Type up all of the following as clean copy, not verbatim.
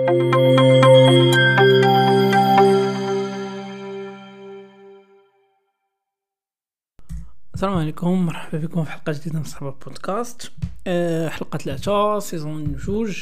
السلام عليكم، مرحبا بكم في حلقه جديده من صحبه بودكاست. حلقه 3 سيزون 2.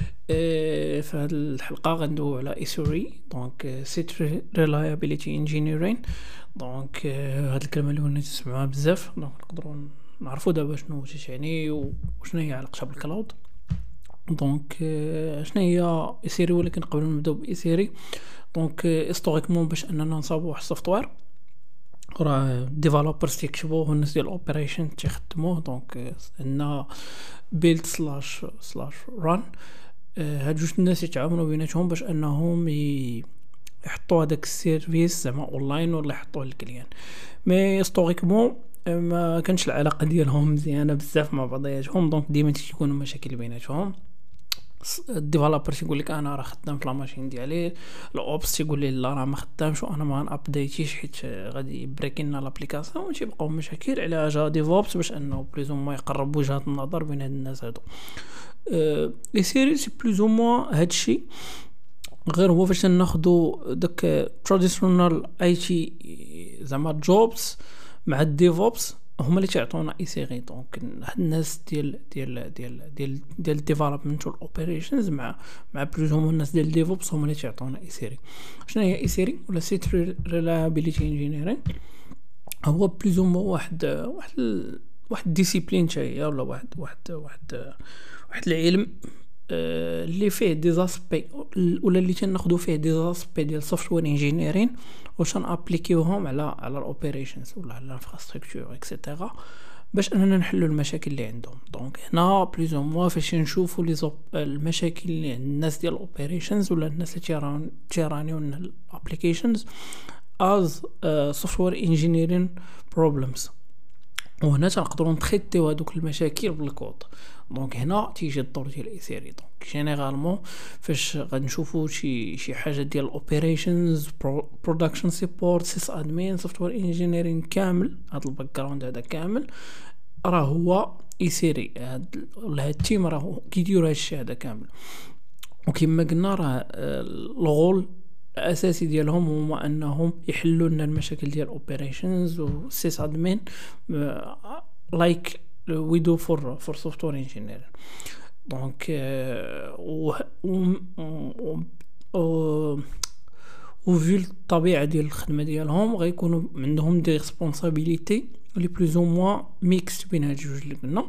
في هذه الحلقه غندويو على ايسوري، دونك سيت ريلايابيليتي انجينيرين. دونك هاد الكلمه اللي ولينا نسمعوها بزاف، دونك نقدروا نعرفوا دابا شنو يعني وشنو هي علاقتها بالكلاود. دونك شنو هي ايسوري؟ ولكن قبل ما نبداو بايسوري، دونك هيستوريكمون باش اننا نصاوبوا واحد السوفتوير راه ديفلوبرز تيكتبوه والناس ديال الاوبريشن تيخدموه. دونك عندنا بيلد سلاش ران. هاد جوج الناس يتعاونوا بيناتهم باش انهم يحطوا هذاك السيرفيس زعما اونلاين ولا يحطوه للكليان. مي هيستوريكمون ما كانش العلاقه ديالهم مزيانه بزاف مع بعضياتهم، دونك ديما تيكونوا مشاكل بيناتهم. الديفلوبر تيقول لك انا راه خدام في لاماشين ديالي، الاوبس تيقول لي لا راه ما خدامش وانا ما نابديتيش حيت غادي يبريكينا لابليكاسيون، وتيبقاو مشاكل. على جا ديفوبس باش انه بلوز ما يقرب وجهات النظر بين هاد الناس هادو. لي سيري سي بلوز ما هادشي، غير هو فاش ناخذوا داك تراديشنال اي تي زعما جوبز مع الديفوبس هما اللي تعطونا اي سي غي. دونك الناس ديال الديفلوبمنت والاوبريشنز مع بلوز هما الناس ديال الديفوبس هما اللي تعطونا اي سي. شنو هي اي سي ولا سيت ريلايابيليتي انجينيرين؟ هو بلوز هما واحد ديسيبلين تاعي، ولا واحد العلم اللي فيه دي زاسبي ولا اللي تناخذوا فيه دي زاسبي ديال سوفتوير انجينيرين واش نابليكيوهم على الاوبريشنز ولا على الانفراستركتور اكسيتيرا باش اننا نحلوا المشاكل اللي عندهم. دونك هنا بلوز موا فاش نشوفوا المشاكل اللي عند الناس ديال الاوبريشنز ولا الناس اللي تيرانيو الابليكيشنز از سوفتوير انجينيرين بروبلمز، وهنا تنقدروا نتريتيو هذوك المشاكل بالكود. دونك هنا تيجي الدور ديال اي سي. دونك جينيرالمون فاش غنشوفوا شي حاجه ديال اوبريشنز برودكشن سيبورت سيس ادمين سوفتوير انجينيرين كامل، هذا الباك جراوند هذا كامل راه هو اي سي. هاد التيم راه كيديروا هادشي هذا كامل. وكما قلنا راه الغول الاساسي ديالهم هما انهم يحلوا لنا المشاكل ديال اوبريشنز و سيس ادمين لايك we do for software engineering. دونك وفي الطبيعه ديال الخدمه ديالهم غيكونوا عندهم دي ريسبونسابيلتي لي بلوز او موان ميكس بين هاد جوج اللي قلنا.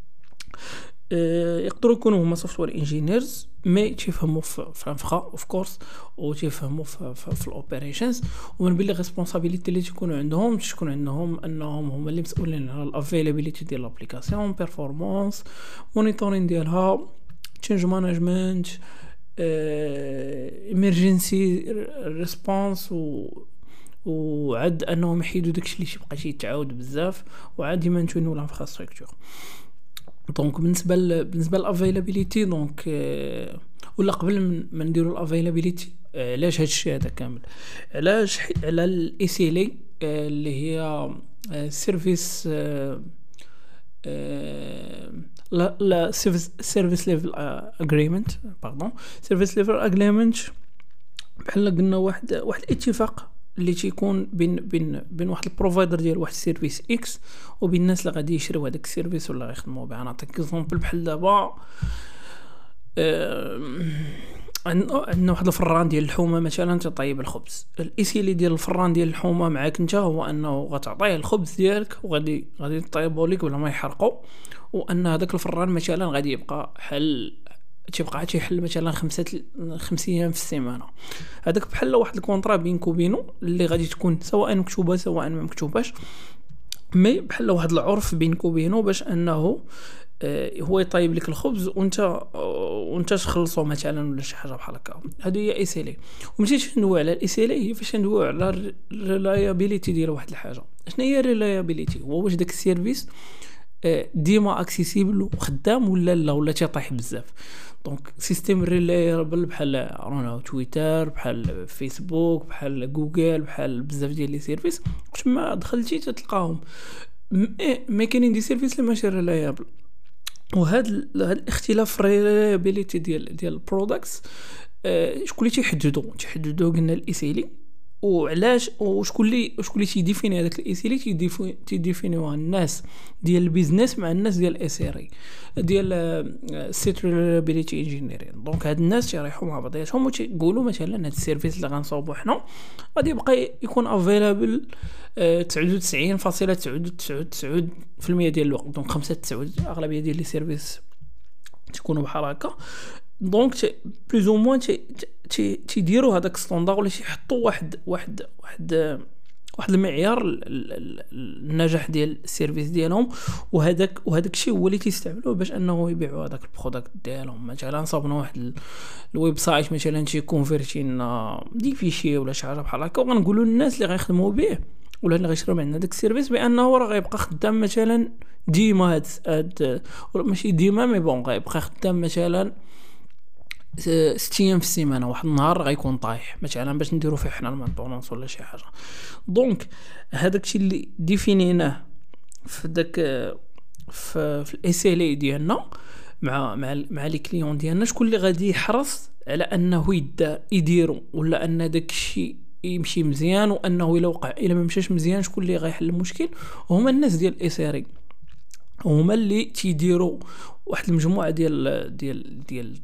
يقدروا يكونوا هما سوفتوير انجينيرز مي تيفهموا في الانفرا اوف كورس وتيفهموا في الاوبريشنز، ومن بين لي ريسبونسابيلتي اللي تكون عندهم انهم هما اللي مسؤولين على الافيلابيليتي ديال الابليكاسيون، بيرفورمانس، مونيتورين ديالها، تشينج مانجمنت، ايمرجنسي ريسبونس، وعاد انهم يحيدوا داكشي اللي تيبقى يتعاود بزاف، وعاد يمانتونيو الانفراستركتور. دونك بالنسبه للافيلابيليتي، دونك ولا قبل ما نديروا الافيلابيليتي علاش هادشي هذا كامل؟ علاش؟ على الاي سي ال اللي هي سيرفيس لا سيرفيس ليفل اجريمنت سيرفيس ليفل اجريمنت. بحال قلنا واحد الاتفاق اللي تيكون بين واحد البروفايدر ديال واحد السيرفيس اكس وبين الناس اللي غادي يشريو هذاك السيرفيس ولا يخدموا به. نعطيك اكزامبل بحال دابا عندنا واحد الفران ديال الحومه مثلا تطيب الخبز. الايسيلي ديال الفران ديال الحومه معاك انت هو انه غتعطيه الخبز ديالك وغادي يطيبوا لك ولا ما يحرقوا، وان هذاك الفران مثلا غادي يبقى تيبقى تيحل مثلا 5 ايام في السيمانه. هذاك بحال واحد الكونطرا بينك وبينه اللي غادي تكون سواء مكتوبه سواء ما مكتوباش، مي بحال واحد العرف بينك وبينه باش انه هو يطيب لك الخبز وانت تخلصوا مثلا ولا شي حاجه بحال هكا. هذه هي اي سي لي. ومشيت ندوي على الاي سي لي هي فاش ندوي على الريلايابيليتي ديال واحد الحاجه. شنو هي الريلايابيليتي؟ هو واش داك السيرفيس ديما اكسيسيبل وخدام ولا تيطيح بزاف. دونك سيستيم ريلايبل بحال تويتر، بحال فيسبوك، بحال جوجل، بحال بزاف ديال لي سيرفيس واش ما دخلتي تلقاهم مي كاينين دي سيرفيس اللي ماشي ريلايبل. وهذا الاختلاف في الريلايبيليتي ديال البرودكتس شكون اللي تيحددو قلنا الايسيلي، وعلاش وشكون اللي تيديفيني هذاك الايسيلي؟ تيديفينيوها الناس ديال البيزنس مع الناس ديال الاسيري ديال سيت ريلابيليتي انجينيرين. دونك هاد الناس تيريحوا مع بعضياتهم وتيقولوا مثلا هاد السيرفيس اللي غنصاوبو حنا غادي يبقى يكون افيلابل 99.999% ديال الوقت. دونك 95 اغلبيه ديال لي سيرفيس تكونوا بحال هكا. دونك بلوز او موان تيديروا هذاك ستاندار ولا تيحطوا واحد المعيار النجاح ديال السيرفيس ديالهم، وهذاك الشيء هو اللي تيستعملوه باش انه يبيعوا هذاك البرودكت ديالهم. مثلا صابنا واحد الويب سايت مثلا تي كونفيرتينا دي فيشي ولا شي حاجه بحال هكا، وغنقولوا للناس اللي غيخدموا به ولا اللي غيشريو من داك السيرفيس بانه راه غيبقى خدام مثلا ديما هاد ماشي ديما مي بون غيبقى خدام مثلا 6 ايام في السيمانه، واحد النهار غيكون طايح مثلا باش نديرو فيه حنا المانطونونس ولا شي حاجه. دونك هذاك الشيء اللي ديفينيناه في داك في الاس ال اي ديالنا مع لي كليون ديالنا، شكون اللي غادي يحرص على انه يديرو ولا ان داك الشيء يمشي مزيان، وانه الا ما مشاش مزيان شكون اللي غيحل المشكل؟ هما الناس ديال الاسيري، هما اللي تيديروا واحد المجموعه ديال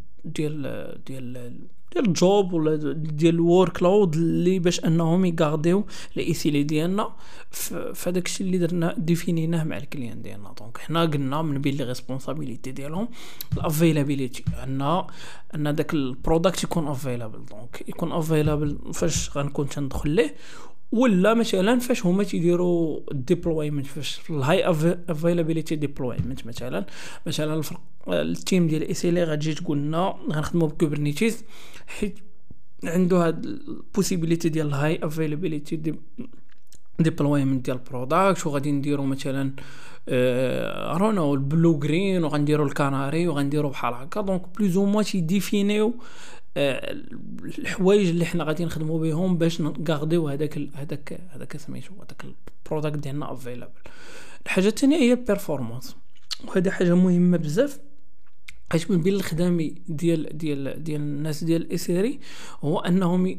الجوب ولا ديال الورك لود اللي باش انهم يغارديو الايسيلي ديالنا في داك الشيء اللي درنا ديفينيناه مع الكليان ديالنا. دونك حنا قلنا من بين لي ريسبونسابيلتي ديالهم الافيلابيليتي، ان داك البرودكت يكون افيلابل. دونك يكون افيلابل فاش غنكون تندخل ليه، ولا مثلا فاش هما تيديروا الديبلويمنت، فاش في الهاي افيلابيليتي ديبلويمنت مثلا التيم ديال اي سي ال غتجي تقول لنا غنخدموا بكوبرنيتيز حيت عنده هاد البوسيبيليتي ديال الهاي افيلابيليتي ديبلويمنت ديال البرودكت، وغادي نديروا مثلا رانا البلو جرين وغنديروا الكناري وغنديروا بحال هكا. دونك بلوز او موا تيديفينيو الحوايج اللي حنا غادي نخدموا بهم باش نغارديو هذاك سميتو هذاك البرودكت ديالنا افيلابل. الحاجه الثانيه هي البيرفورمانس، وهذه حاجه مهمه بزاف حيت من بين الخدامي ديال الناس ديال الاسيري هو انهم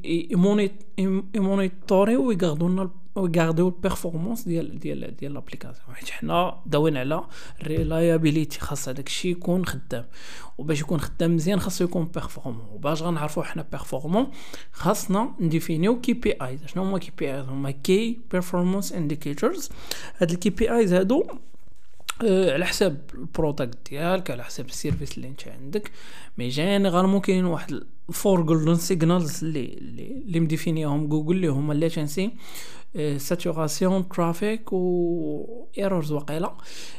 يمونيتوريو ويغارديو البيرفورمانس ديال لابليكاسيون، حيت حنا داوين على الريلايابيليتي، خاص هذاك الشيء يكون خدام، وباش يكون خدام مزيان خاصو يكون بيرفورمون. وباش غنعرفوا حنا بيرفورمون خاصنا نديفينيو كي بي ايز. شنو هما كي بي ايز؟ هما كي بيرفورمانس انديكيتورز. هاد الكي بي ايز هادو على حساب البرودكت ديالك، على حساب السيرفيس اللي انت عندك، مي جينيرالمون كاين واحد فور جولدن سيجنالز اللي مديفينيهم جوجل اللي هما لاتنسي، ساتوراسيون، ترافيك و ايرورز وقيلا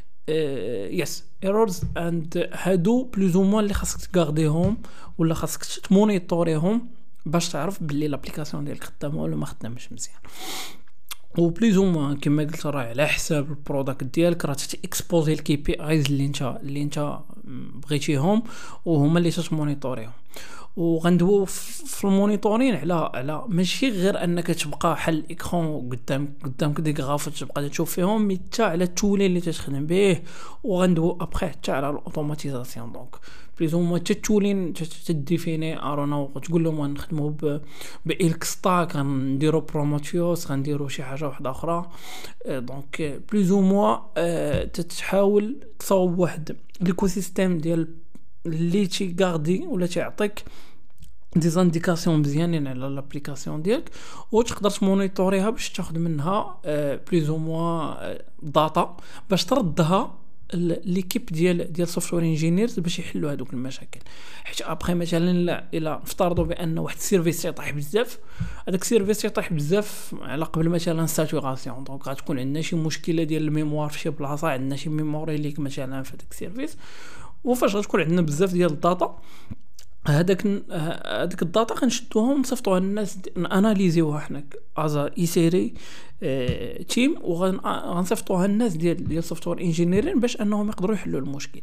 يس ايرورز. اند هادو بلوز او موان اللي خاصك تغارديهم ولا خاصك تمونيتوريهم باش تعرف باللي لابليكاسيون ديالك خدامه ولا ما خدامش مزيان. و بليز او موان كما قلت راه على حساب البرودكت ديالك راه تيكسبوزي الكي بي ايز اللي انت بغيتيهم، وهما اللي تمونيتوريهم. وغندويو في المونيتورين على ماشي غير انك تبقى حل الاكران قدامك دي غراف تبقى تشوف فيهم، مي حتى على التولين اللي تخدم به، وغندويو ابخي حتى على الاوتوماتيزاسيون. دونك بليز او موان تولين تديفيني ارونا وتقول لهم نخدموا بالك ستاك، غنديروا بروموتيوس، غنديروا شي حاجه واحده اخرى. دونك بليز او موان تحاول تصاوب واحد ليكو سيستيم ديال اللي تيغاردي ولا تعطيك دي زانديكاسيون مزيانين على لابليكاسيون ديالك، وتقدر تمونيتوريها باش تاخذ منها بليز او موان داتا باش تردها ليكيب ديال سوفتوير انجينيرز باش يحلوا هذوك المشاكل. حيت ابخي مثلا الا نفترضوا بان واحد السيرفيس يطيح بزاف، هذاك السيرفيس يطيح بزاف على قبل مثلا ساتوراسيون، دونك غتكون عندنا شي مشكله ديال الميموار في شي بلاصه، عندنا شي ميموري ليك مثلا في هذاك السيرفيس، وفاش غتكون عندنا بزاف ديال الداتا، هذاك الداتا غنشدوها ونصيفطوها للناس اناليزيوها حنا ازا اي سيري تيم، وغنصيفطوها للناس ديال سوفتوير انجينيرين باش انهم يقدروا يحلوا المشكل.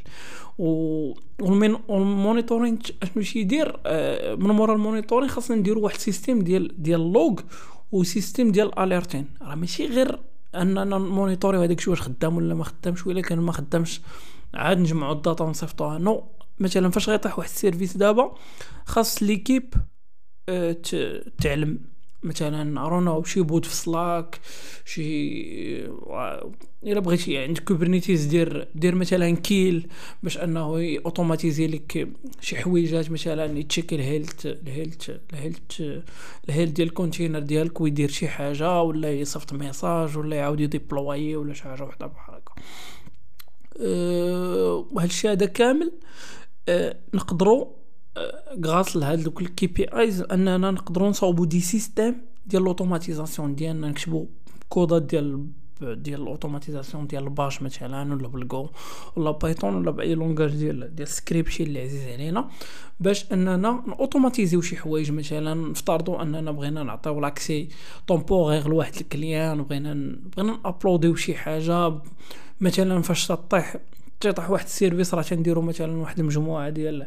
والمونيتورين اشنو يدير من مورا المونيتورين خاصنا نديروا واحد سيستيم ديال لوغ وسيستيم ديال اليرتين. راه ماشي غير اننا مونيتوريو هذاك الشيء واش خدام ولا ما خدامش، ولا كان ما خدامش عاد نجمعوا الداتا ونصيفطوها. نو مثلا فاش غيطيح واحد السيرفيس دابا خاص ليكيب تعلم مثلا ارونا شي بود في سلاك، شي الا بغيتي عند كوبرنيتيز دير مثلا كيل باش انه اوتوماتيزي لك شي حويجات، مثلا يتشيك الهيلث ديال الكونتينر ديالك ويدير شي حاجه، ولا يصيفط ميساج، ولا يعاود يديبلوي، ولا شي حاجه وحده بحال هكا. وهذا الشيء هذا كامل نقدروا غاس لهاد دوك الكي بي ايز اننا نقدروا نصاوبوا دي سيستيم ديال الاوتوماتيزاسيون ديالنا، نكتبوا كودات ديال الاوتوماتيزاسيون ديال الباش مثلا، ولا بالجو، ولا بايثون، ولا باي لونغاج ديال السكريبت اللي عزيز علينا، باش اننا اوتوماتيزيو شي حوايج. مثلا نفترضوا اننا بغينا نعطيو لاكسي طومبورير لواحد الكليان، وبغينا ابلوديو شي حاجه، مثلا فاش تطيح واحد السيرفيس راه تنديروا مثلا واحد المجموعه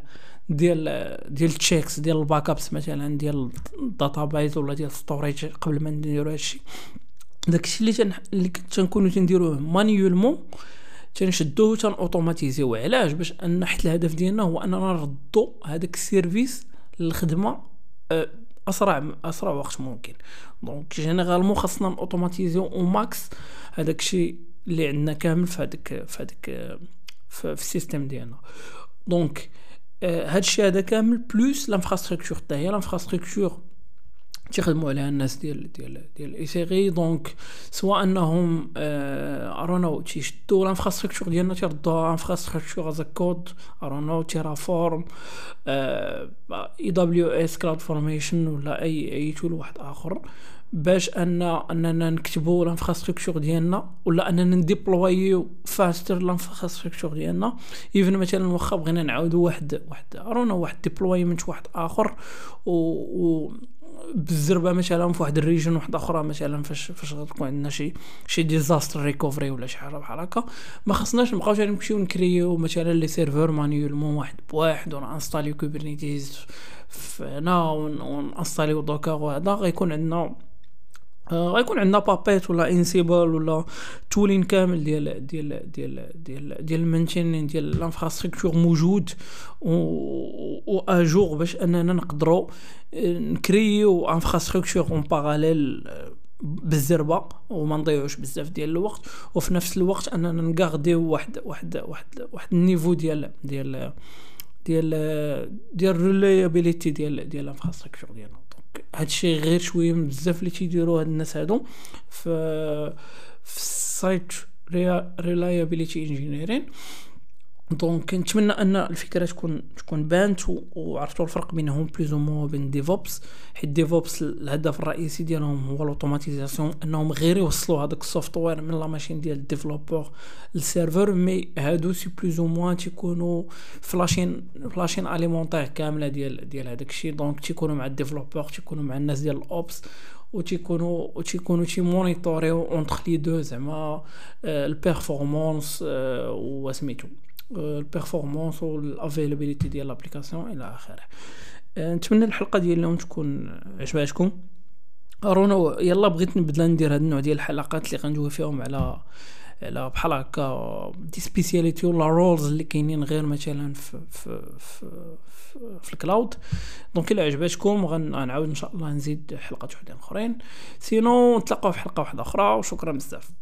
ديال التشيكس ديال الباك ابس، مثلا ديال الداتابايز ولا ديال ستوريج، قبل ما نديروا هادشي. داكشي اللي تنكونوا تنديروه مانيولمون تنشدوه اوتوماتيزيو. علاش؟ باش ان حيت الهدف ديالنا هو اننا نردوا هذاك السيرفيس للخدمه اسرع وقت ممكن. دونك جينيرالمون خاصنا اوتوماتيزيو او ماكس هذاك الشيء اللي عندنا كامل في هذاك في السيستم ديالنا. دونك هاد الشيء هذا كامل بلوس لانفراستركتور حتى هي لانفراستركتور تيخدموا عليها الناس ديال اي سي. دونك سواء انهم ارونو تيشدوا لانفراستركتور ديالنا تيردوها انفراستركتور از كود، ارونو تيرافورم، اي دبليو اس كلاود فورميشن، ولا اي تول واحد اخر، باش اننا نكتبوا الانفراستركتور ديالنا، ولا اننا نديبلويو فاستر الانفراستركتور ديالنا. ايفن مثلا واخا بغينا نعاودوا واحد ارونو واحد ديبلويمنت واحد اخر و بالزربه مثلا في واحد الريجن واحد اخرى، مثلا فاش غتكون عندنا شي ديزاستر ريكوفري ولا شي حاجه بحال هكا، ما خصناش نبقاو نمشيو نكريو مثلا لي سيرفر مانيولمون واحد بواحد، ولا انستاليو كوبرنيتيز هنا ونانستاليو دوكر، وهذا غيكون عندنا بابيت ولا انسيبل ولا تولين كامل ديال المانتين ديال الانفراستركتور موجود و اجور، باش اننا نقدروا نكريو انفراستركتور اون باراليل بالزربه وما نضيعوش بزاف ديال الوقت، وفي نفس الوقت اننا نغارديو واحد النيفو ديال الريلايابيليتي ديال الانفراستركتور ديالنا. هادشي غير شويه من بزاف اللي تيديروا هاد الناس هادو في السايت ريلايابيليتي انجينيرين. دونك نتمنى ان الفكره تكون بانت وعرفتوا الفرق بينهم بلوز او بين ديفوبس. حيت ديفوبس الهدف الرئيسي ديالهم هو الاوتوماتيزاسيون، انهم غير يوصلوا هذاك السوفتوير من لا ماشين ديال الديفلوبور للسيرفر. مي هادو سي بلوز او موان تيكونوا فلاشين اليمونتير كامله ديال هذاك الشيء. دونك تيكونوا مع الديفلوبور، تيكونوا مع الناس ديال الاوبس، وتيكونوا مونيتوريو اونتر لي دو، زعما البيرفورمانس وسميتو البيرفورمانس والافيلابيليتي ديال لابليكاسيون الى اخره. نتمنى الحلقه ديال اليوم تكون عجباتكم. ارونا يلا بغيت نبدا ندير هذا النوع ديال الحلقات اللي غندوي فيهم على بحال هكا دي سبيسياليتي ولا رولز اللي كاينين غير مثلا في الكلاود. دونك الا عجباتكم غنعاود ان شاء الله نزيد حلقات وحدين اخرين. سينو نتلاقاو في حلقه واحده اخرى، وشكرا بزاف.